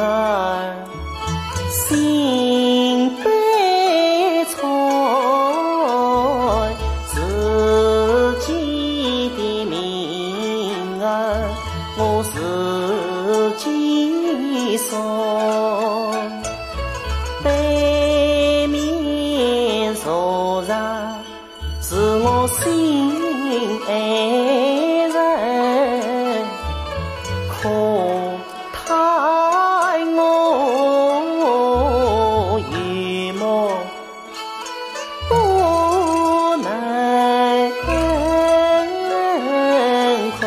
儿心悲催，自己的命儿我自己送，背面坐着是我心爱人，可叹我一梦不能空。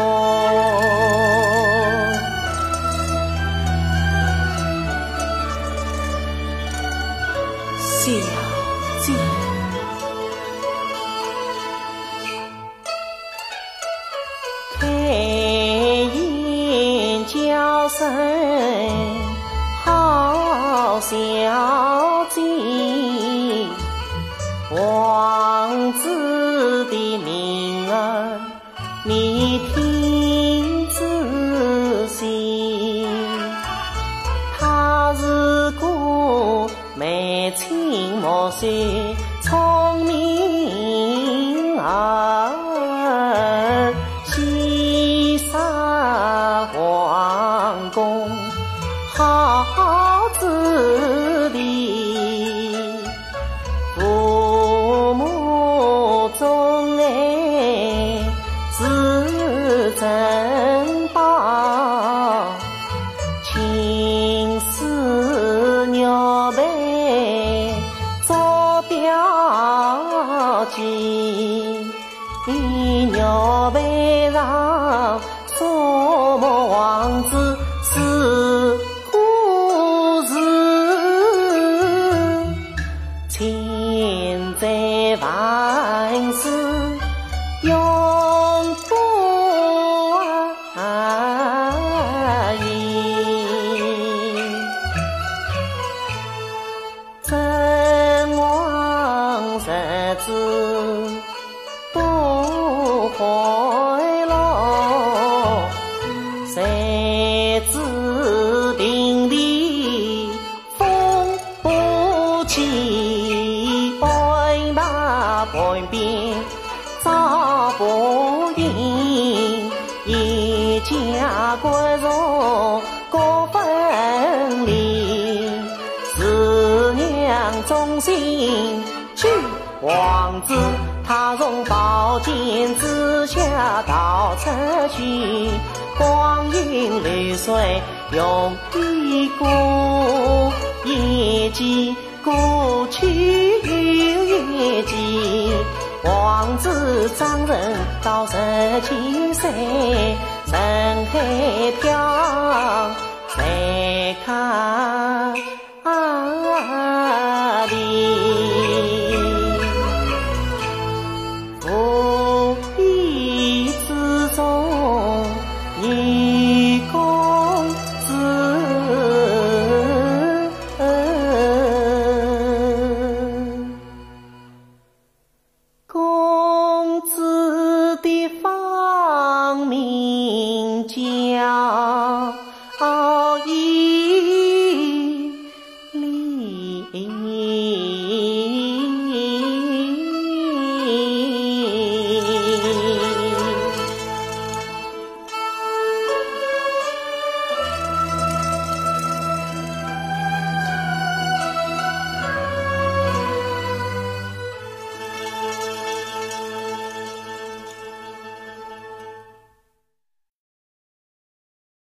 小姐，开眼叫声好小姐，王子的名儿你听仔细，他是个眉清目秀聪明儿，西沙皇宫好子弟，父母钟爱是珍宝，青丝鸟背做表记，鸟背上说么王子是故事，千载万世永不移。真王日子不回落，谁知平地风不起，半马半边找不赢，一家国弱各分离，是娘忠心去王子，他从宝剑之下逃出去，光阴流水用一过，一季过去又一季，王子长人到17岁，人海飘，谁看